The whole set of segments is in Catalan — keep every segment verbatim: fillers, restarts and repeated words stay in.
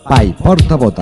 Paiporta vota.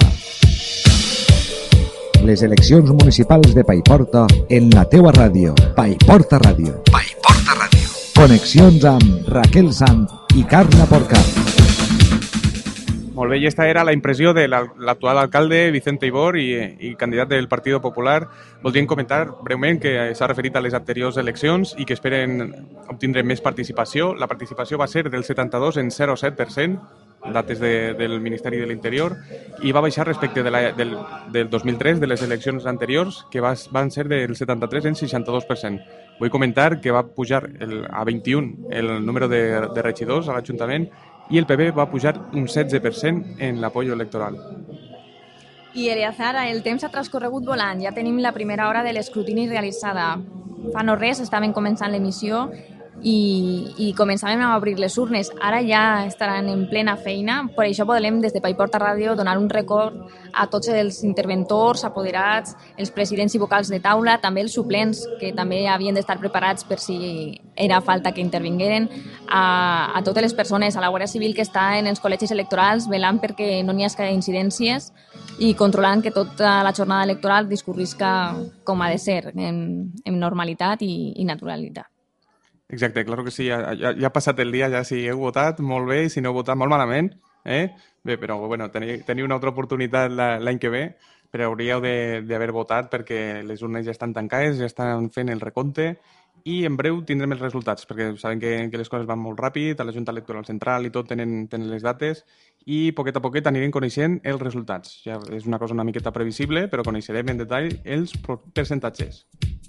Les eleccions municipals de Paiporta en la teua ràdio. Paiporta Ràdio. Paiporta Ràdio. Connexions amb Raquel Sant i Carla Porcar. Molt bé, i esta era la impressió de l'actual alcalde Vicente Ibor i, i candidat del Partido Popular. Voldríem comentar breument que s'ha referit a les anteriors eleccions i que esperen obtindre més participació. La participació va ser del setanta-dos en zero coma set per cent, dates de, del Ministeri de l'Interior, i va baixar respecte de la, del, del dos mil tres, de les eleccions anteriors, que va, van ser del setanta-tres en seixanta-dos per cent. Vull comentar que va pujar el, a vint-i-un el número de, de regidors a l'Ajuntament i el P P va pujar un setze per cent en l'apoyo electoral. I Eleazar, el temps ha transcorregut volant. Ja tenim la primera hora de l'escrutini realitzada. Fa no res, estaven començant l'emissió i, i començàvem a obrir les urnes. Ara ja estaran en plena feina. Per això podem, des de Paiporta Ràdio, donar un record a tots els interventors, apoderats, els presidents i vocals de taula, també els suplents, que també havien d'estar preparats per si era falta que intervingueren, a, a totes les persones, a la Guàrdia Civil que està en els col·legis electorals, velant perquè no n'hi hagi incidències i controlant que tota la jornada electoral discorrisca com ha de ser, en, en normalitat i, i naturalitat. Exacte, clar que sí, ja, ja, ja ha passat el dia, ja si heu votat, molt bé, i si no heu votat, molt malament, eh? Bé, però bueno, teniu, teniu una altra oportunitat l'any que ve, però hauríeu d'haver votat perquè les urnes ja estan tancades, ja estan fent el recompte, i en breu tindrem els resultats, perquè saben que, que les coses van molt ràpid, a la Junta Electoral Central i tot tenen, tenen les dates, i poquet a poquet anirem coneixent els resultats. Ja és una cosa una miqueta previsible, però coneixerem en detall els percentatges.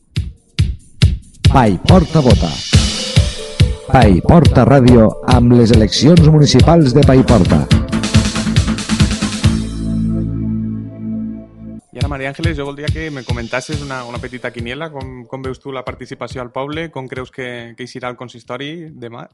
Paiporta vota. Paiporta Ràdio amb les eleccions municipals de Paiporta. I ara, Maria Àngeles, jo voldria que me comentassis una, una petita quiniela. Com, com veus tu la participació al poble? Com creus que, que hi serà el consistori demà?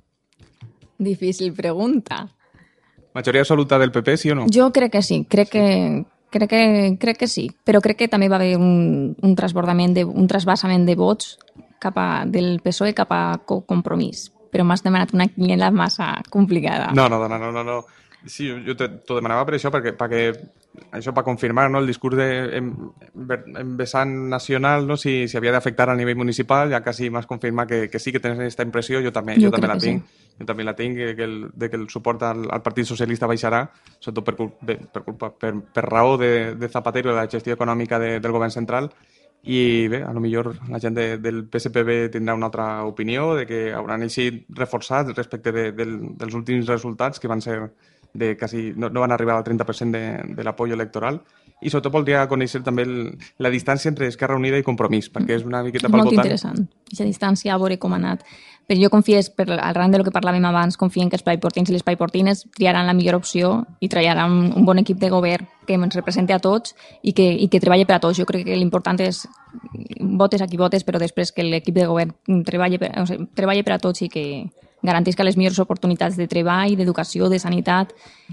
Difícil pregunta. Majoria absoluta del P P, sí o no? Jo crec que sí, crec que, crec que, crec que sí, però crec que també va haver un, un transbordament, de, un trasbassament de vots cap a, del P S O E cap a Compromís. Però m'has demanat una quiniela massa complicada. No, no, no, no, no. no. Sí, jo t'ho demanava per això, perquè, perquè això per confirmar, no, el discurs de, en, en vessant nacional, no, si, si havia d'afectar a nivell municipal, ja quasi m'has confirmat que, que sí que tens aquesta impressió, jo també, jo, jo també la tinc. Sí. Jo també la tinc, que, que el, de que el suport al, al Partit Socialista baixarà, sobretot per, culpa, per, culpa, per, per raó de, de Zapatero i de la gestió econòmica de, del govern central. I bé, a lo millor la gent de, del P S P B tindrà una altra opinió, de que hauran eixit reforçats respecte de, de, dels últims resultats, que van ser de quasi, no, no van arribar al trenta per cent de, de l'apoyo electoral. I sobretot voldria conèixer també el, la distància entre Esquerra Unida i Compromís, perquè és una miqueta pel votant. Molt interessant, aquesta distància, a veure com ha anat. Però jo confies, per, al ran de lo que parlàvem abans, confien que els paiportins i les paiportines triaran la millor opció i treballaran un bon equip de govern que ens representi a tots i que, i que treballi per a tots. Jo crec que l'important és votes a qui votes, però després que l'equip de govern treballi per, o sigui, treballi per a tots i que garantisca les millors oportunitats de treball, d'educació, de sanitat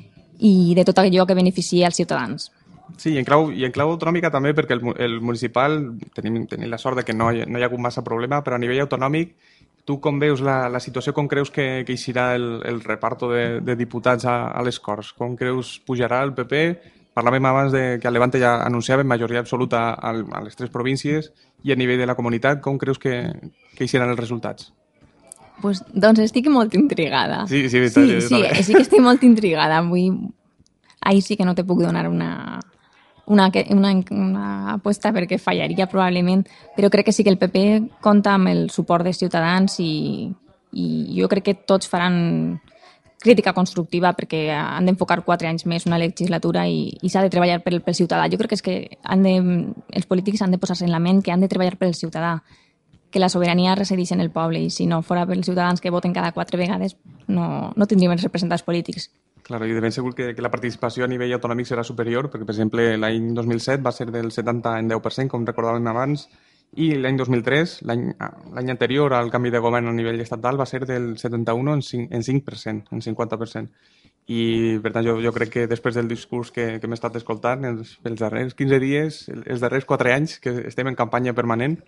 i de tot allò que beneficia als ciutadans. Sí, i en clau, i en clau autonòmica també, perquè el, el municipal tenim, tenim la sort de que no hi, no hi ha hagut massa problema, però a nivell autonòmic, tu com veus la, la situació, com creus que, que hi serà el, el reparto de, de diputats a, a les Corts? Com creus pujarà el P P? Parlàvem abans de que a Levante ja anunciaven majoria absoluta a, a les tres províncies i a nivell de la comunitat, com creus que, que hi seran els resultats? Pues, doncs estic molt intrigada. Sí, sí, sí, sí, sí, sí que estic molt intrigada. Vull... Ahir sí que no te puc donar una, una, una, una aposta perquè fallaria probablement, però crec que sí que el P P compta amb el suport dels ciutadans i, i jo crec que tots faran crítica constructiva perquè han d'enfocar quatre anys més una legislatura i, i s'ha de treballar pel, pel ciutadà. Jo crec que és que han de, els polítics han de posar-se en la ment que han de treballar pel ciutadà, que la sobirania resideix en el poble i si no fora pels ciutadans que voten cada quatre vegades no, no tindríem els representants polítics. Claro, i de ben segur que, que la participació a nivell autonòmic serà superior, perquè, per exemple, l'any dos mil set va ser del setanta en deu per cent, com recordàvem abans, i l'any dos mil tres, l'any anterior al canvi de govern a nivell estatal, va ser del setanta-u en cinc per cent, en cinquanta per cent. I, per tant, jo, jo crec que després del discurs que, que hem estat escoltant, els, els darrers quinze dies, els darrers quatre anys que estem en campanya permanent,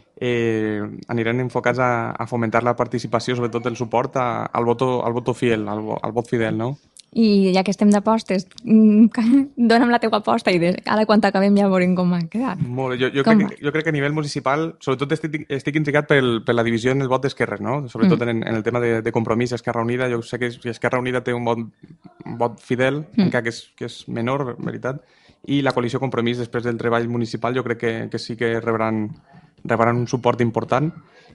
eh, aniran enfocats a, a fomentar la participació, sobretot el suport a, al, voto, al voto fiel, al, al vot fidel, no? I ja que estem d'apostes, dona'm la teua aposta i de, ara quan acabem ja veurem com ha quedat. Molt bé. Jo, jo, crec, que, jo crec que a nivell municipal, sobretot estic, estic intrigat pel, per la divisió en el vot d'Esquerres, no? Sobretot mm. en, en el tema de, de Compromís, Esquerra Unida. Jo sé que Esquerra Unida té un vot, un vot fidel, mm. encara que és, que és menor, en veritat, i la coalició Compromís, després del treball municipal, jo crec que, que sí que rebran, rebran un suport important.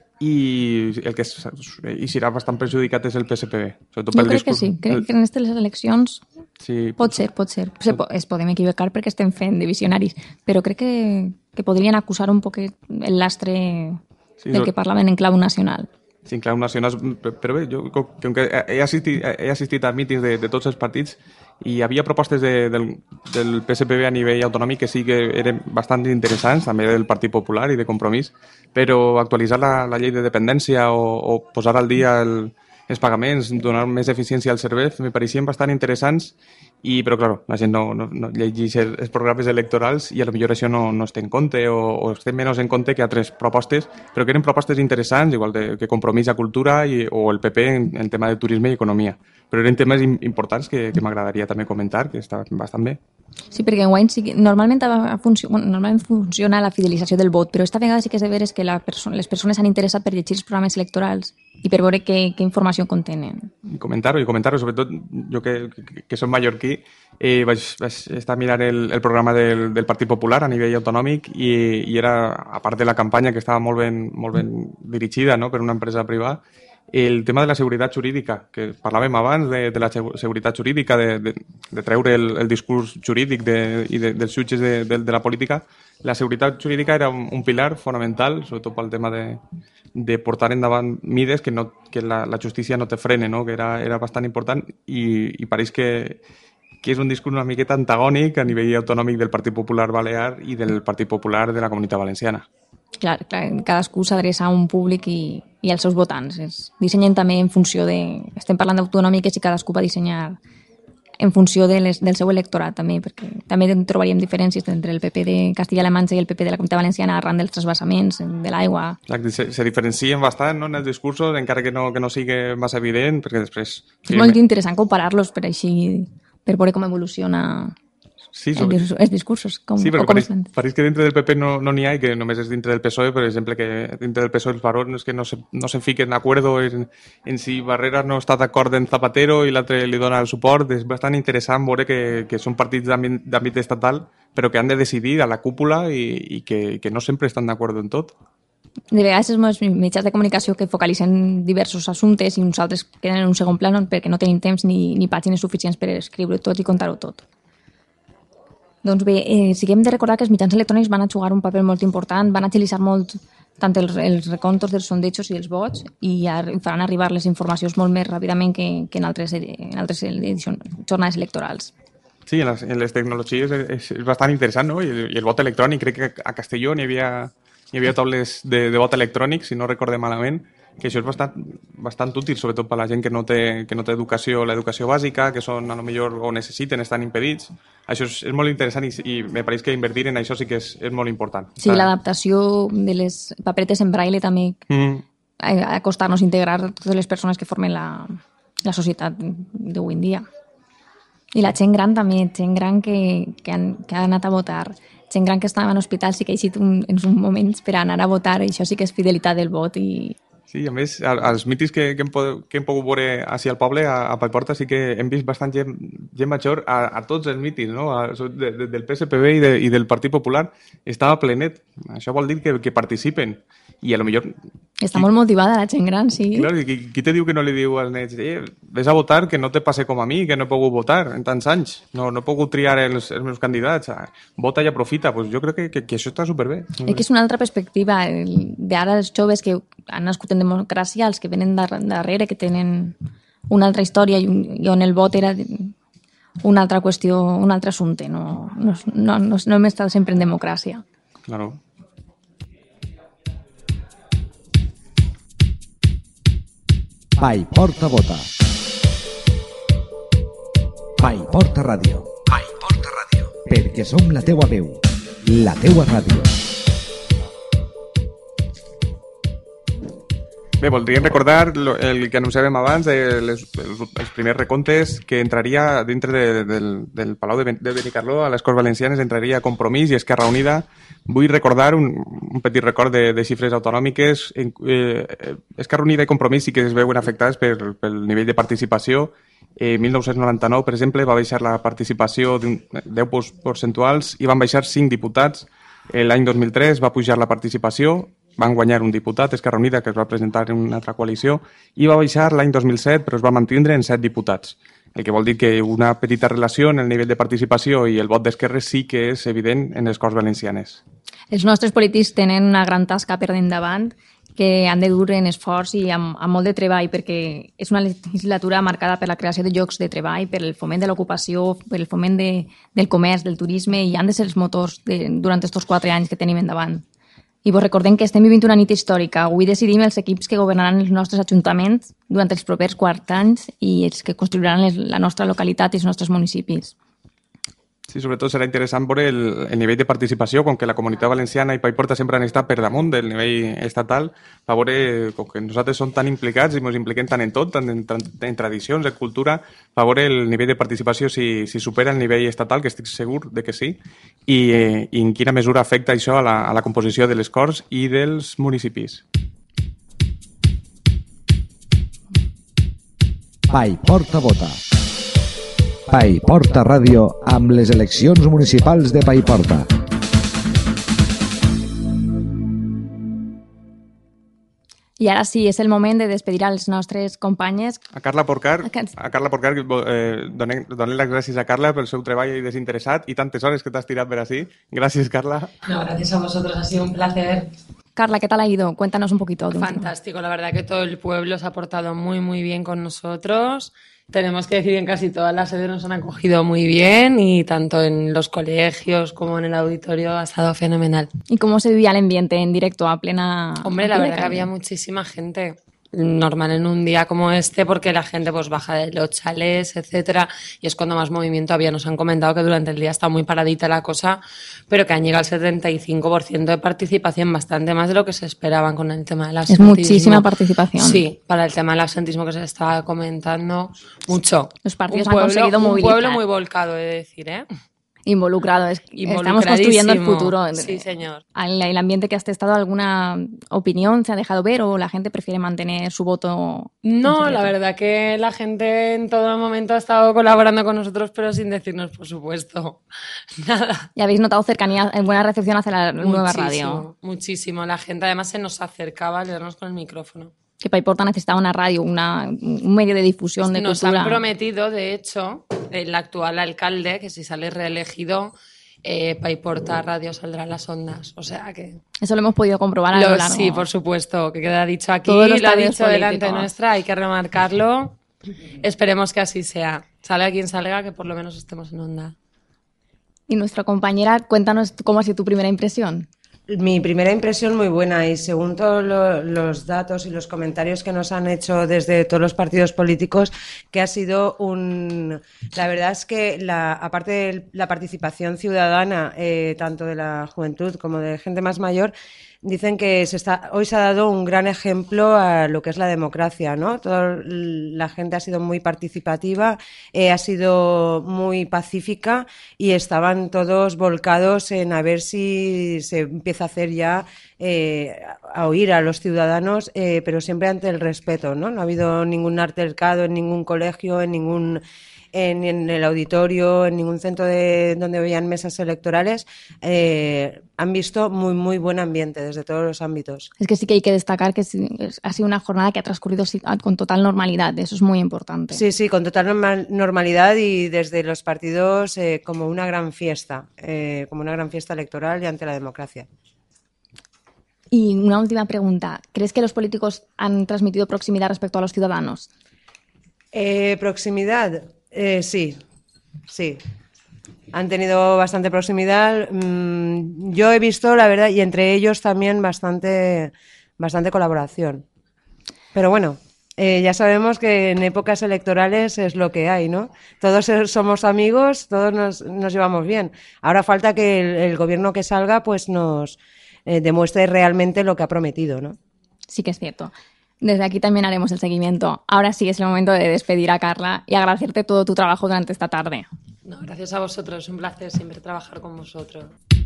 I el que hi serà bastant perjudicat és el P S P B. Jo crec discurs... que sí, crec que en aquestes eleccions sí, pot ser, pot ser. Se po es podem equivocar perquè estem fent de visionaris, però crec que, que podrien acusar un poc el lastre sí, del que parlaven en clau nacional. Sí, en clau nacional, però bé, jo com que he assistit, he assistit a mítings de, de tots els partits i hi havia propostes de, del, del P S P B a nivell autonòmic que sí que eren bastant interessants, també del Partit Popular i de Compromís, però actualitzar la, la llei de dependència o, o posar al dia el, els pagaments, donar més eficiència al servei, me pareixien bastant interessants, i, però, clar, la gent no, no, no llegeix els programes electorals i a lo millor això no, no es té en compte o, o es té menys en compte que altres propostes, però que eren propostes interessants, igual de, que Compromís a Cultura i, o el P P en, en tema de turisme i economia. Però eren temes importants que, que m'agradaria també comentar, que estaven bastant bé. Sí, perquè en Wine sí que normalment, funcio, bueno, normalment funciona la fidelització del vot, però esta vegada sí que és de veres que la perso les persones s'han interessat per llegir els programes electorals i per veure què, què informació contenen. I comentar-ho, i comentar-ho, sobretot jo que, que, que som mallorquí, eh, vaig, vaig estar mirant el, el programa del, del Partit Popular a nivell autonòmic i, i era, a part de la campanya que estava molt ben, molt ben dirigida, no?, per una empresa privada, el tema de la seguretat jurídica, que parlàvem abans de, de la seguretat jurídica, de, de, de treure el, el discurs jurídic de, i de, dels jutges de, de, de la política. La seguretat jurídica era un, un pilar fonamental, sobretot pel tema de, de portar endavant mides que, no, que la, la justícia no te frene, no? Que era, era bastant important i, i pareix que, que és un discurs una miqueta antagònic a nivell autonòmic del Partit Popular Balear i del Partit Popular de la Comunitat Valenciana. Clar, clar, cadascú s'adreça a un públic i, i als seus votants. Es dissenyen també en funció de... Estem parlant d'autonòmiques i cadascú va dissenyar en funció de les, del seu electorat també, perquè també trobaríem diferències entre el P P de Castilla-La Manxa i el P P de la Comunitat Valenciana arran dels transvasaments, de l'aigua. Se, se diferencien bastant, no?, en els discursos, encara que no, que no sigui massa evident, perquè després... És molt interessant comparar-los per així, per veure com evoluciona... Sí, sobre... els discursos. Com, sí, perquè pareix, pareix que dintre del P P no n'hi ha i que només és dintre del P S O E, per exemple, que dintre del P S O E els barons que no se, no se fiquen d'acord en, en si Barreras no està d'acord en Zapatero i l'altre li dona el suport. És bastant interessant veure que, que són partits d'àmbit estatal però que han de decidir a la cúpula i, i que, que no sempre estan d'acord en tot. De vegades els mitjans de comunicació que focalitzen diversos assumptes i uns altres queden en un segon pla perquè no tenim temps ni, ni pàgines suficients per escriure tot i contar-ho tot. Doncs bé, eh, sí que hem de recordar que els mitjans electrònics van a jugar un paper molt important, van agilitzar molt tant els, els recontos dels sondejos i els vots i faran arribar les informacions molt més ràpidament que, que en altres, en altres edicions, jornades electorals. Sí, en les, en les tecnologies és, és bastant interessant, no? I el, i el vot electrònic, crec que a Castelló n'hi havia, hi havia taules de, de vot electrònic, si no recordem malament, que això és bastant, bastant útil, sobretot per a la gent que no té, que no té educació, l'educació bàsica, que són, a lo millor, o necessiten, estan impedits. Això és, és molt interessant i, i me pareix que invertir en això sí que és, és molt important. Sí, l'adaptació de les paperetes en braille també mm. a, a costar-nos integrar totes les persones que formen la, la societat d'avui en dia. I la gent gran també, gent gran que, que, han, que ha anat a votar, gent gran que estava en hospital sí que ha eixit un, en uns moments per anar a votar, i això sí que és fidelitat del vot i... Sí, a més, als mítings que, que, hem, que hem pogut veure així al poble, a, a Paiporta, sí que hem vist bastant gent, gent major a, a tots els mítings, no? A, de, de, del P S P B i, de, i del Partit Popular. Estava plenet. Això vol dir que, que participen. I a lo millor... Està qui, molt motivada la gent gran, sí. Clar, qui, qui te diu que no li diu als nets eh, ves a votar, que no te passe com a mi, que no he pogut votar en tants anys, no, no he pogut triar els, els meus candidats, vota i aprofita. Pues jo crec que, que, que això està superbé. És que és una altra perspectiva d'ara els joves que han nascut en democràcia, els que venen darrere, que tenen una altra història i, un, i on el vot era una altra qüestió, un altre assumpte. No, no, no, no, no hem estat sempre en democràcia. Claro. Paiporta vota. Paiporta Ràdio. Paiporta Ràdio. Perquè som la teua veu, la teua ràdio. Bé, voldríem recordar lo, el que anunciàvem abans, de les, els, els primers recomptes, que entraria dintre de, del, del Palau de, ben, de Benicarló, a les Corts Valencianes, entraria Compromís i Esquerra Unida. Vull recordar un, un petit record de, de xifres autonòmiques. En, eh, Esquerra Unida i Compromís sí que es veuen afectades per, pel nivell de participació. En eh, mil nou-cents noranta-nou, per exemple, va baixar la participació d'un deu percentuals i van baixar cinc diputats. L'any dos mil tres va pujar la participació, van guanyar un diputat, Esquerra Unida, que es va presentar en una altra coalició, i va baixar l'any dos mil set, però es va mantindre en set diputats. El que vol dir que una petita relació en el nivell de participació i el vot d'Esquerra sí que és evident en les Corts Valencianes. Els nostres polítics tenen una gran tasca per endavant que han de dur en esforç i amb, amb molt de treball, perquè és una legislatura marcada per la creació de llocs de treball, per el foment de l'ocupació, per el foment de, del comerç, del turisme, i han de ser els motors de, durant aquests quatre anys que tenim endavant. I vos recordem que estem vivint una nit històrica. Avui decidim els equips que governaran els nostres ajuntaments durant els propers quatre anys i els que construiran les, la nostra localitat i els nostres municipis. Sí, sobretot serà interessant veure el, el nivell de participació, com que la Comunitat Valenciana i Paiporta sempre han estat per damunt del nivell estatal, per veure, com que nosaltres som tan implicats i ens impliquem tant en tot, tant en, en tradicions, en cultura, per veure el nivell de participació si, si supera el nivell estatal, que estic segur de que sí, i, eh, i en quina mesura afecta això a la, a la composició de les Corts i dels municipis. Paiporta vota. Paiporta Ràdio amb les eleccions municipals de Paiporta. I ara sí, és el moment de despedir als nostres companyes. A Carla Porcar, a Carla Porcar eh, donem, donem les gràcies a Carla pel seu treball desinteresat i tantes hores que t'has tirat per així. Gràcies, Carla. No, gracias a vosotros, ha sido un placer. Carla, ¿qué tal ha ido? Cuéntanos un poquito. Fantástico, la verdad que todo el pueblo se ha portado muy, muy bien con nosotros. Tenemos que decir que en casi todas las sedes nos han acogido muy bien y tanto en los colegios como en el auditorio ha estado fenomenal. ¿Y cómo se vivía el ambiente en directo a plena... Hombre, la verdad que había muchísima gente. Normal en un día como este porque la gente pues baja de los chalés, etcétera, y es cuando más movimiento había. Nos han comentado que durante el día está muy paradita la cosa, pero que han llegado al setenta y cinco por ciento de participación, bastante más de lo que se esperaban con el tema del absentismo. Es muchísima participación. Sí, para el tema del absentismo que se estaba comentando, mucho. Los partidos un pueblo, han conseguido movilizar. Un pueblo muy volcado, he de decir, ¿eh? Involucrado, es, estamos construyendo el futuro. Sí, señor. El ambiente que has testado, ¿alguna opinión se ha dejado ver o la gente prefiere mantener su voto? No, la verdad que la gente en todo momento ha estado colaborando con nosotros, pero sin decirnos, por supuesto, nada. ¿Y habéis notado cercanía, buena recepción hacia la muchísimo, nueva radio? Muchísimo. La gente además se nos acercaba a leernos con el micrófono. Que Paiporta necesitaba una radio, una, un medio de difusión de Nos cultura. Nos han prometido, de hecho, el actual alcalde, que si sale reelegido, eh, Paiporta Radio saldrá en las ondas. O sea que... Eso lo hemos podido comprobar a lo, lo largo. Sí, por supuesto, que queda dicho aquí, Todos los lo ha dicho políticos. delante nuestra, hay que remarcarlo. Esperemos que así sea. Salga quien salga, que por lo menos estemos en onda. Y nuestra compañera, cuéntanos cómo ha sido tu primera impresión. Mi primera impresión muy buena y según todos lo, los datos y los comentarios que nos han hecho desde todos los partidos políticos, que ha sido un... La verdad es que la, aparte de la participación ciudadana, eh, tanto de la juventud como de gente más mayor, dicen que se está, hoy se ha dado un gran ejemplo a lo que es la democracia, ¿no? Toda la gente ha sido muy participativa, eh, ha sido muy pacífica y estaban todos volcados en a ver si se empieza a hacer ya, eh, a oír a los ciudadanos, eh, pero siempre ante el respeto, ¿no? No ha habido ningún altercado en ningún colegio, en ningún... En, en el auditorio, en ningún centro de donde habían mesas electorales, eh, han visto muy, muy buen ambiente desde todos los ámbitos. Es que sí que hay que destacar que ha sido una jornada que ha transcurrido con total normalidad, eso es muy importante. Sí, sí, con total normal, normalidad y desde los partidos eh, como una gran fiesta, eh, como una gran fiesta electoral y ante la democracia. Y una última pregunta, ¿crees que los políticos han transmitido proximidad respecto a los ciudadanos? Eh, proximidad... Eh, sí, sí. Han tenido bastante proximidad. Mm, yo he visto, la verdad, y entre ellos también bastante, bastante colaboración. Pero bueno, eh, ya sabemos que en épocas electorales es lo que hay, ¿no? Todos somos amigos, todos nos, nos llevamos bien. Ahora falta que el, el gobierno que salga pues nos eh, demuestre realmente lo que ha prometido, ¿no? Sí que es cierto. Desde aquí también haremos el seguimiento. Ahora sí es el momento de despedir a Carla y agradecerte todo tu trabajo durante esta tarde. No, gracias a vosotros, es un placer siempre trabajar con vosotros.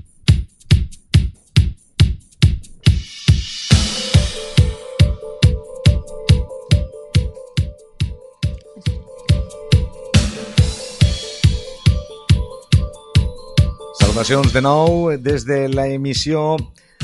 Salutacions de nou des de l'emissió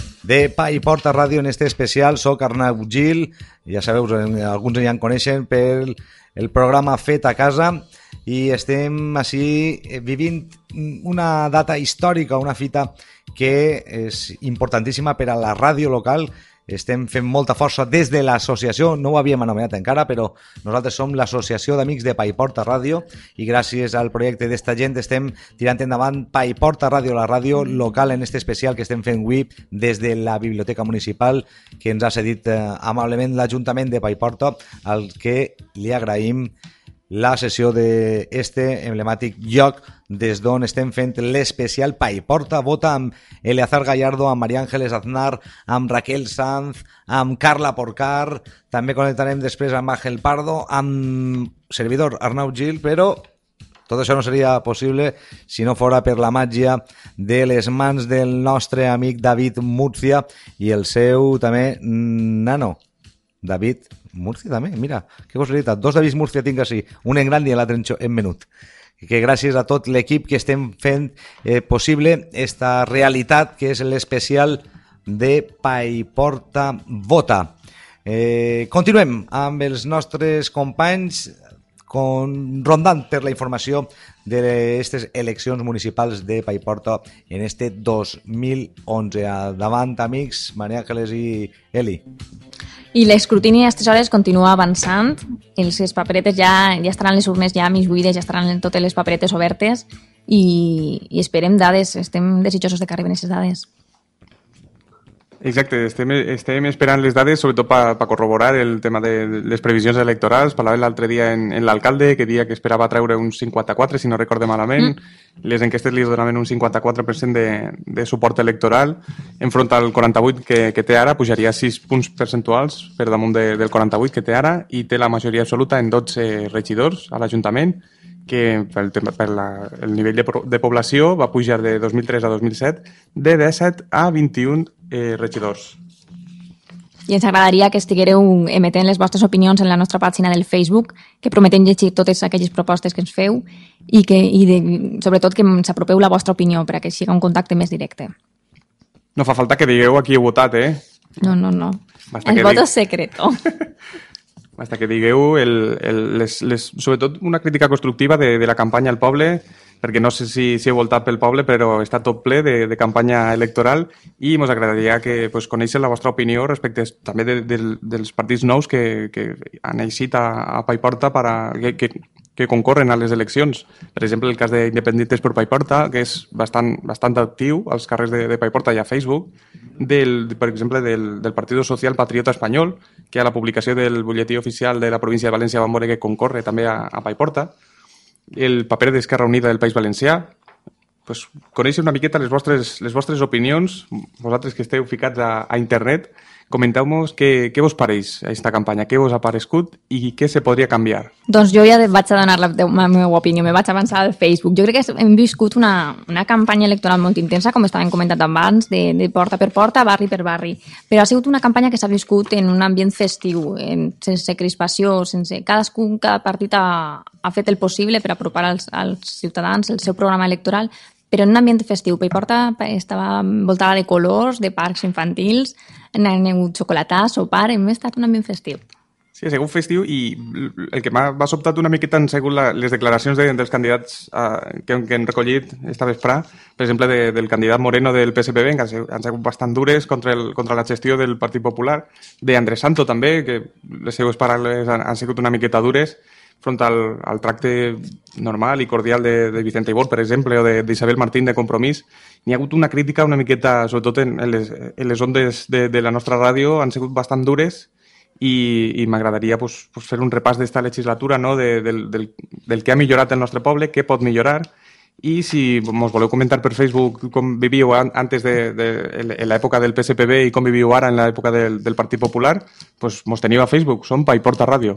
de Pa i Porta Ràdio en este especial. Soc Arnau Gil, ja sabeu, alguns ja en coneixen per el programa Fet a Casa, i estem així vivint una data històrica, una fita que és importantíssima per a la ràdio local. Estem fent molta força des de l'associació, no ho havíem anomenat encara, però nosaltres som l'Associació d'Amics de Pa i Porta Ràdio, i gràcies al projecte d'esta gent estem tirant endavant Pa i Porta Ràdio, la ràdio local, en este especial que estem fent avui des de la Biblioteca Municipal, que ens ha cedit eh, amablement l'Ajuntament de Pa i Porta, al que li agraïm la sessió d'este emblemàtic lloc des d'on estem fent l'especial Pa i Porta Vota, amb Eleazar Gallardo, amb María Ángeles Aznar, amb Raquel Sanz, amb Carla Porcar. També connectarem després amb Ángel Pardo, amb servidor Arnau Gil, però tot això no seria possible si no fora per la màgia de les mans del nostre amic David Murcia i el seu també nano David Murcia també, mira, que casualitat, dos David Murcia tinc així, un en gran i l'altre en menut, que gràcies a tot l'equip que estem fent eh, possible esta realitat que és l'especial de Pa i Porta Vota. Eh, continuem amb els nostres companys con, rondant per la informació d'aquestes eleccions municipals de Pa i Porta en este dos mil onze. Davant, amics, María Ángeles i Eli. I l'escrutini a aquestes hores continua avançant. Els paperetes ja, ja estaran les urnes ja mig buides, ja estaran totes les paperetes obertes i, i esperem dades. Estem desitjosos de que arriben aquestes dades. Exacte, estem, estem esperant les dades, sobretot per pa corroborar el tema de les previsions electorals. Parlàvem l'altre dia en, en l'alcalde, que dia que esperava treure un cinquanta-quatre, si no recorde malament. Mm. Les enquestes li donaven un cinquanta-quatre per cent de, de suport electoral. Enfront al quaranta-vuit que, que té ara, pujaria sis punts percentuals per damunt de, del quaranta-vuit que té ara, i té la majoria absoluta en dotze regidors a l'Ajuntament, que pel, per la, el nivell de, de població va pujar de dos mil tres a dos mil set de disset a vint-i-un eh, regidors. I ens agradaria que estiguéreu emetent les vostres opinions en la nostra pàgina del Facebook, que prometem llegir totes aquelles propostes que ens feu i, que, i de, sobretot que ens apropeu la vostra opinió per a que sigui un contacte més directe. No fa falta que digueu a qui heu votat, eh? No, no, no. Basta el voto dig... és secreto. Basta que digueu, el, el, les, les, sobretot una crítica constructiva de, de la campanya al poble, perquè no sé si, si heu voltat pel poble, però està tot ple de, de campanya electoral, i ens agradaria que pues, conèixer la vostra opinió respecte també de, de, dels partits nous que, que han eixit a, a Pa i Porta per a, que, que, que concorren a les eleccions. Per exemple, el cas d'Independientes per Pa i Porta, que és bastant, bastant actiu als carrers de, de Pa i Porta i a Facebook, del, per exemple, del, del Partido Social Patriota Espanyol, que a la publicació del butlletí oficial de la província de València vam veure que concorre també a, a Pa i Porta, el paper d'Esquerra Unida del País Valencià. Pues, conèixer una miqueta les vostres, les vostres opinions, vosaltres que esteu ficats a, a internet, comenteu-nos què, què vos pareix aquesta campanya, què vos ha parescut i què se podria canviar. Doncs jo ja vaig a donar la, la meva opinió, me vaig avançar al Facebook. Jo crec que hem viscut una, una campanya electoral molt intensa, com estàvem comentant abans, de, de porta per porta, barri per barri, però ha sigut una campanya que s'ha viscut en un ambient festiu, en, sense crispació, sense... Cadascun, cada partit ha, ha fet el possible per apropar als, als ciutadans el seu programa electoral, però en un ambient festiu. Pa i Porta estava envoltada de colors, de parcs infantils, han hagut xocolatà, sopar, hem estat un ambient festiu. Sí, ha sigut festiu, i el que m'ha sobtat una miqueta han sigut la, les declaracions de, dels candidats uh, que, que han recollit esta vesprà, per exemple, de, del candidat Moreno del P S P B, que han sigut, han sigut bastant dures contra, el, contra la gestió del Partit Popular, de Andrés Santo també, que les seues paraules han, han sigut una miqueta dures, front al, al tracte normal i cordial de, de Vicente Ibor, per exemple, o d'Isabel Martín de Compromís. N'hi ha hagut una crítica una miqueta, sobretot en, en, les, en les ondes de, de la nostra ràdio, han sigut bastant dures, i, i m'agradaria pues, pues, fer un repàs d'esta legislatura, no? de, del, del, del que ha millorat el nostre poble, què pot millorar, i si ens voleu comentar per Facebook com vivíeu antes de, de, de l'època del P S P B i com vivíeu ara en l'època del, del Partit Popular, doncs mos teniu a Facebook, som Paiporta Ràdio.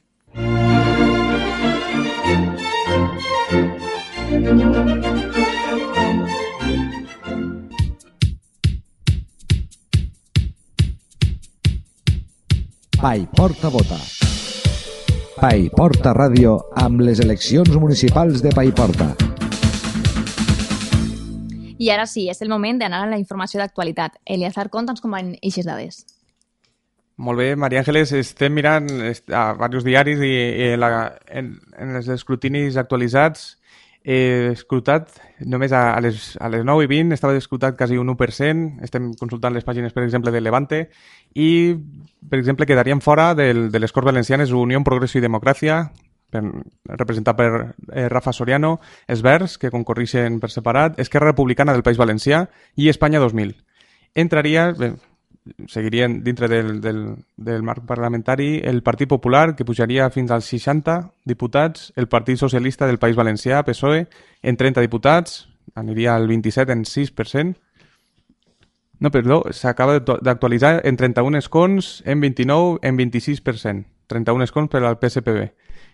Paiporta vota. Paiporta Ràdio amb les eleccions municipals de Paiporta. I ara sí, és el moment d'anar a la informació d'actualitat. Eliazar, conta'ns com van eixes dades. Molt bé, Maria Ángeles, estem mirant a diversos diaris i, i la, en, en els escrutinis actualitzats he escrutat només a, a, les, a les nou i vint, estava escrutat quasi un u per cent, estem consultant les pàgines, per exemple, de Levante, i, per exemple, quedarien fora del, de les Corts Valencianes Unió, Progreso i Democràcia, per, representat per eh, Rafa Soriano, els Verds, que concorreixen per separat, Esquerra Republicana del País Valencià i Espanya dos mil. Entraria... Bé, seguirien dintre del, del, del marc parlamentari el Partit Popular, que pujaria fins als seixanta diputats, el Partit Socialista del País Valencià, P S O E, en trenta diputats, aniria al vint-i-set en sis per cent. No, perdó, s'acaba d'actualitzar en trenta-un escons, en vint-i-nou, en vint-i-sis per cent. trenta-un escons per al P S P B.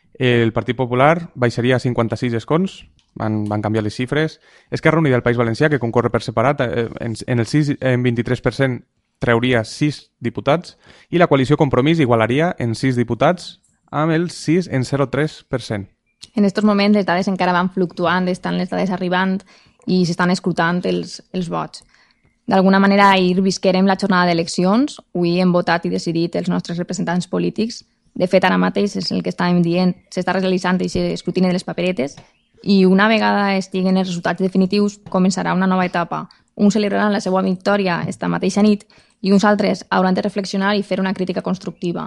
El Partit Popular baixaria a cinquanta-sis escons, van, van canviar les xifres. Esquerra Unida del País Valencià, que concorre per separat, en, en el sis, en vint-i-tres per cent treuria sis diputats i la coalició Compromís igualaria en sis diputats amb el sis en zero coma tres per cent. En aquests moments les dades encara van fluctuant, estan les dades arribant i s'estan escrutant els, els vots. D'alguna manera, ahir visquerem la jornada d'eleccions, avui hem votat i decidit els nostres representants polítics. De fet, ara mateix és el que estàvem dient, s'està realitzant aquest escrutini de les paperetes i una vegada estiguen els resultats definitius començarà una nova etapa. Uns celebraran la seva victòria esta mateixa nit i uns altres hauran de reflexionar i fer una crítica constructiva.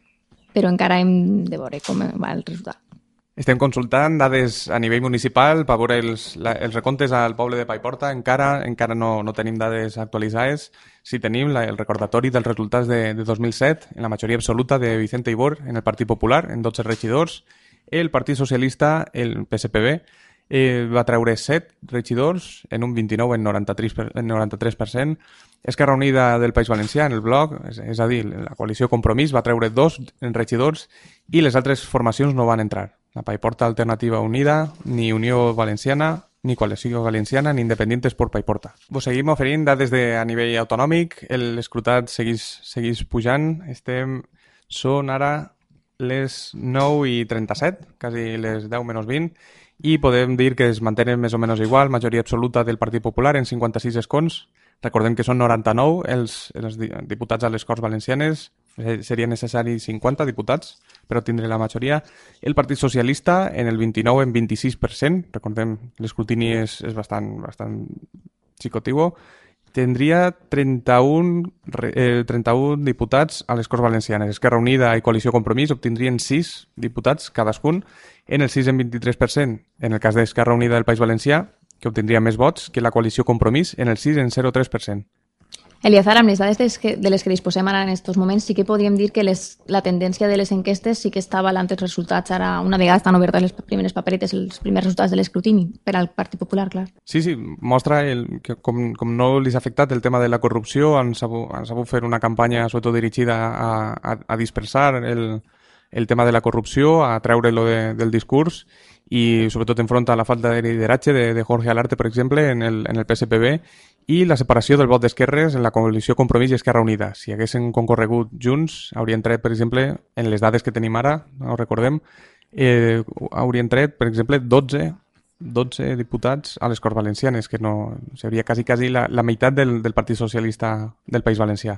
Però encara hem de veure com va el resultat. Estem consultant dades a nivell municipal per veure els, la, els recomptes al poble de Paiporta. Encara encara no, no tenim dades actualitzades. Sí tenim la, el recordatori dels resultats de, de dos mil set, en la majoria absoluta de Vicente Ibor en el Partit Popular, en dotze regidors. El Partit Socialista, el P S P B, eh, va treure set regidors, en un vint-i-nou en noranta-tres per cent. Esquerra Unida del País Valencià, en el bloc, és, és a dir, la coalició Compromís va treure dos regidors i les altres formacions no van entrar. La Paiporta Alternativa Unida, ni Unió Valenciana, ni Coalició Valenciana, ni Independientes por Paiporta. Vos seguim oferint dades de, a nivell autonòmic, l'escrutat segueix, segueix pujant, estem, són ara les nou i trenta-set, quasi les deu menys vint, i podem dir que es mantenen més o menys igual, majoria absoluta del Partit Popular en cinquanta-sis escons. Recordem que són noranta-nou els, els diputats a les Corts Valencianes, seria necessari cinquanta diputats per obtindre la majoria. El Partit Socialista en el vint-i-nou en vint-i-sis per cent, recordem l'escrutini és, és bastant, bastant xicotivo, tindria trenta-un, eh, trenta-un diputats a les Corts Valencianes. Esquerra Unida i Coalició Compromís obtindrien sis diputats cadascun en el sis en vint-i-tres per cent. En el cas d'Esquerra Unida del País Valencià, que obtindria més vots que la Coalició Compromís en el sis en zero coma tres per cent. Eliazar, amb les dades de les, que, de les que disposem ara en aquests moments, sí que podríem dir que les, la tendència de les enquestes sí que està avalant els resultats ara, una vegada estan obertes les primeres paperetes, els primers resultats de l'escrutini, per al Partit Popular, clar. Sí, sí, mostra el, que com, com no li ha afectat el tema de la corrupció, han sabut, han sabut fer una campanya sobretot dirigida a, a, a dispersar el, el tema de la corrupció, a treure-lo de, del discurs i sobretot enfronta a la falta de lideratge de, de Jorge Alarte, per exemple, en el, en el P S P B, i la separació del vot d'esquerres en la coalició Compromís i Esquerra Unida. Si haguessin concorregut junts, haurien tret, per exemple, en les dades que tenim ara, no ho recordem, eh, haurien tret, per exemple, dotze, dotze diputats a les Corts Valencianes, que no seria quasi, quasi la, la meitat del, del Partit Socialista del País Valencià.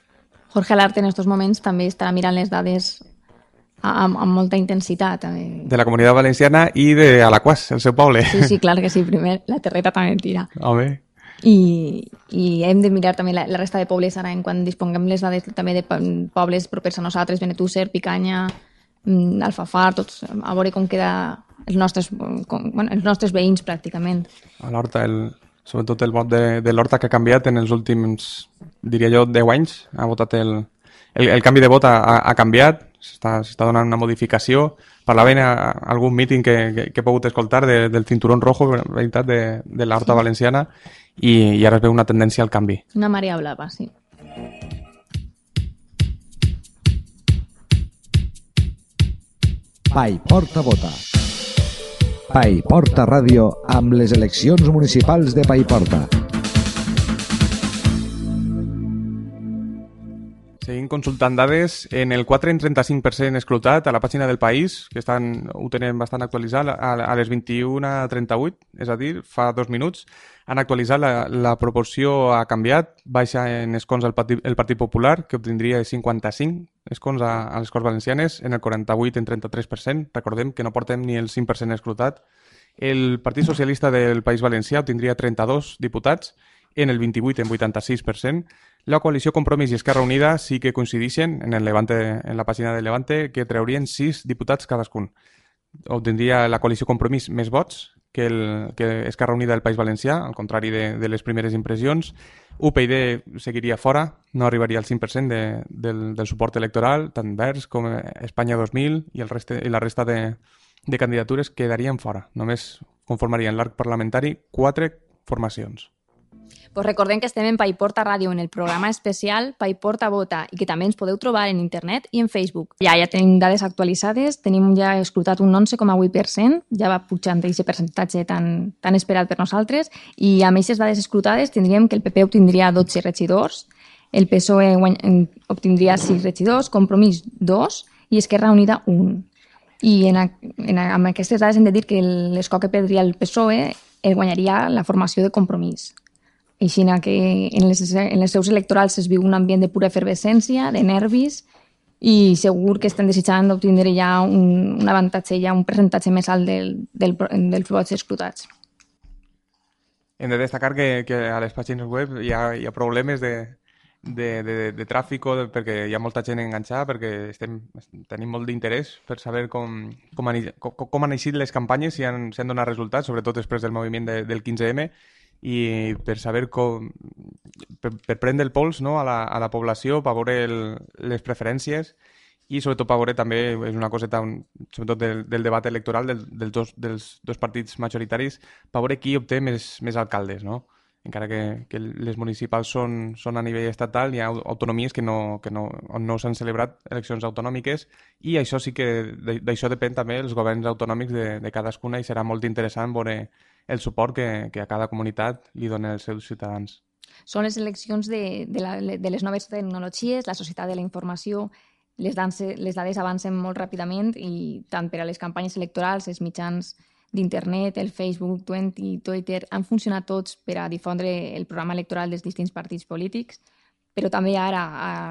Jorge Alarte en aquests moments també estarà mirant les dades amb, amb molta intensitat. També. De la Comunitat Valenciana i de Alaquàs, el seu poble. Sí, sí, clar que sí, primer la terreta també en tira. Home. I, i hem de mirar també la, la resta de pobles ara en quan disponguem les dades també de pobles propers a nosaltres, Benetússer, Picanya, Alfafar, tots, a veure com queda els nostres, com, bueno, els nostres veïns pràcticament. A l'Horta, el, sobretot el vot de, de l'Horta que ha canviat en els últims, diria jo, deu anys, ha votat el, el, el canvi de vot ha, ha canviat, s'està donant una modificació. Parlaven a, a algun míting que, que, que he pogut escoltar de, del cinturón rojo, veritat, de, de l'Horta sí. Valenciana, i, i ara es veu una tendència al canvi. Una marea blava, sí. Paiporta vota. Paiporta Ràdio amb les eleccions municipals de Paiporta. Seguim consultant dades. En el quatre coma trenta-cinc per cent escrutat a la pàgina del País, que estan, ho tenen bastant actualitzat, a, a les vint-i-una trenta-vuit, és a dir, fa dos minuts, han actualitzat la, la proporció ha canviat, baixa en escons el Partit, el Partit Popular, que obtindria cinquanta-cinc escons a, a les Corts Valencianes, en el quaranta-vuit en trenta-tres per cent. Recordem que no portem ni el cinc per cent escrutat. El Partit Socialista del País Valencià obtindria trenta-dos diputats, en el vint-i-vuit en vuitanta-sis per cent. La coalició Compromís i Esquerra Unida sí que coincideixen en, el Levante, en la pàgina de Levante, que treurien sis diputats cadascun. Obtindria la coalició Compromís més vots que, el, que Esquerra Unida del País Valencià, al contrari de, de les primeres impressions. U P y seguiria fora, no arribaria al cinc per cent de, del, del suport electoral, tant Verds com Espanya dos mil i, el reste, i la resta de, de candidatures quedarien fora. Només conformarien l'arc parlamentari quatre formacions. Pues recordem que estem en Paiporta Ràdio en el programa especial Paiporta Vota i que també ens podeu trobar en internet i en Facebook. Ja ja tenim dades actualitzades, tenim ja escrutat un onze coma vuit per cent, ja va pujant aquest percentatge tan, tan esperat per nosaltres, i amb aquestes dades escrutades tindríem que el P P obtindria dotze regidors, el P S O E obtindria sis regidors, Compromís dos i Esquerra Unida un. I en, en, amb aquestes dades hem de dir que l'escó que perdria el P S O E el guanyaria la formació de Compromís. Així que en les, en les seus electorals es viu un ambient de pura efervescència, de nervis, i segur que estem desitjant d'obtindre ja un, un avantatge, ja un percentatge més alt del, del, dels vots escrutats. Hem de destacar que, que a les pàgines web hi ha, hi ha problemes de, de, de, de tràfic, perquè hi ha molta gent enganxada, perquè estem, tenim molt d'interès per saber com, com, han, com, com han eixit les campanyes, si han, si han donat resultats, sobretot després del moviment de, del quinze eme, i per saber com, per, per prendre el pols, no, a, la, a la població, per veure el, les preferències i sobretot per veure també, és una coseta un, sobretot del, del debat electoral del, del dos, dels dos partits majoritaris, per veure qui obté més, més alcaldes, no? Encara que, que les municipals són, són a nivell estatal, hi ha autonomies que no, que no, on no s'han celebrat eleccions autonòmiques, i això sí que d'això depèn també els governs autonòmics de, de cadascuna, i serà molt interessant veure el suport que, que a cada comunitat li donen els seus ciutadans. Són les eleccions de, de, la, de les noves tecnologies, la societat de la informació, les, danse, les dades avancen molt ràpidament, i tant per a les campanyes electorals, els mitjans d'internet, el Facebook, Twitter, han funcionat tots per a difondre el programa electoral dels distints partits polítics, però també ara,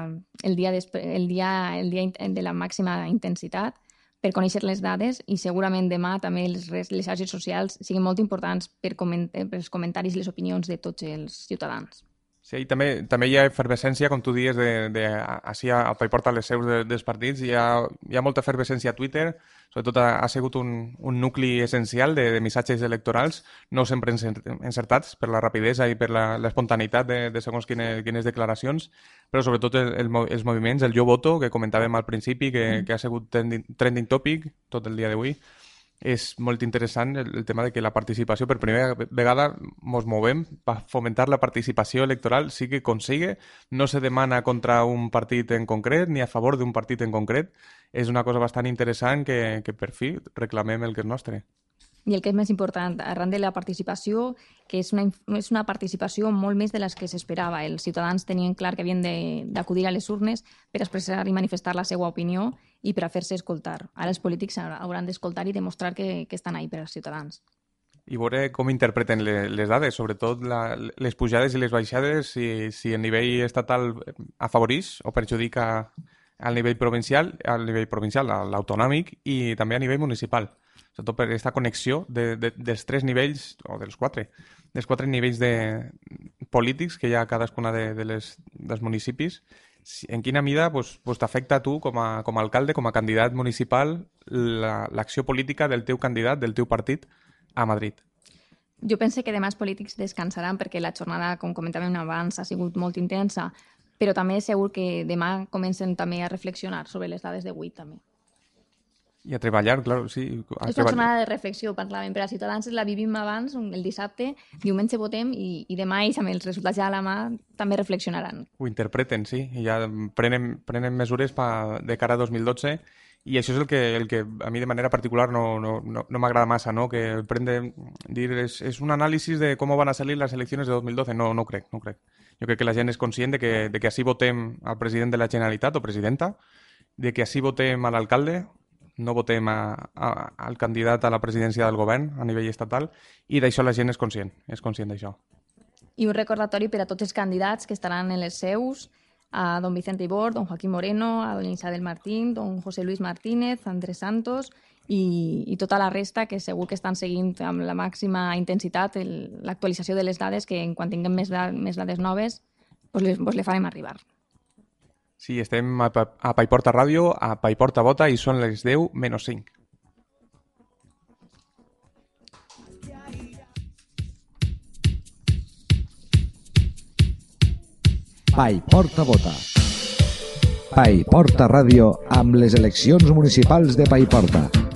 el dia, el dia, el dia de la màxima intensitat, per conèixer les dades, i segurament demà també les, les xarxes socials siguin molt importants per, coment, per els comentaris i les opinions de tots els ciutadans. Sí, i també, també hi ha efervescència, com tu dius, de, de, així a Paiporta les seus de, dels partits, hi ha, hi ha molta efervescència a Twitter, sobretot ha, ha sigut un, un nucli essencial de, de missatges electorals, no sempre encertats per la rapidesa i per l'espontaneïtat de, de segons quines, quines declaracions, però sobretot el, el, els moviments, el jo voto, que comentàvem al principi, que, que ha sigut trending, trending topic tot el dia d'avui. És molt interessant el, el tema de que la participació, per primera vegada ens movem per fomentar la participació electoral, sí que consigue, no se demana contra un partit en concret ni a favor d'un partit en concret. És una cosa bastant interessant que, que per fi reclamem el que és nostre. I el que és més important, arran de la participació, que és una, és una participació molt més de les que s'esperava. Els ciutadans tenien clar que havien d'acudir a les urnes per expressar i manifestar la seva opinió i per a fer-se escoltar. Ara els polítics hauran d'escoltar i demostrar que, que estan ahí per als ciutadans. I veure com interpreten les, les dades, sobretot la, les pujades i les baixades, si, si el nivell estatal afavoreix o perjudica al nivell provincial, al nivell provincial, a l'autonòmic, i també a nivell municipal. Sobretot per aquesta connexió de, de, dels tres nivells, o dels quatre, dels quatre nivells de polítics que hi ha a cadascuna de, de les, dels municipis. En quina mida pues, pues t'afecta a tu, com a, com a alcalde, com a candidat municipal, l'acció la, política del teu candidat, del teu partit, a Madrid? Jo penso que demà els polítics descansaran perquè la jornada, com comentàvem abans, ha sigut molt intensa, però també segur que demà comencen també a reflexionar sobre les dades d'avui també. I a treballar, clar, sí. A És una jornada de reflexió, parlàvem, per a Ciutadans la vivim abans, el dissabte, diumenge votem i, i demà ells amb els resultats ja a la mà també reflexionaran. Ho interpreten, sí, i ja prenen, prenen mesures pa, de cara a dos mil dotze i això és el que, el que a mi de manera particular no, no, no, no m'agrada massa, no? Que prende, dir, és, és un anàlisi de com van a salir les eleccions de dos mil dotze. No, no crec, no crec. Jo crec que la gent és conscient de que, de que així votem al president de la Generalitat o presidenta, de que així votem a l'alcalde, no votem a, a, al candidat a la presidència del govern a nivell estatal i d'això la gent és conscient, és conscient d'això. I un recordatori per a tots els candidats que estaran en les seus, a don Vicente Ibor, don Joaquín Moreno, a doña Isabel Martín, don José Luis Martínez, Andrés Santos i, i tota la resta que segur que estan seguint amb la màxima intensitat l'actualització de les dades que en quan tinguem més, da, més dades noves pues les, pues les farem arribar. Sí, estem a, a Paiporta Ràdio, a Paiporta Vota i són les deu menys cinc. Paiporta Vota. Paiporta Ràdio amb les eleccions municipals de Paiporta.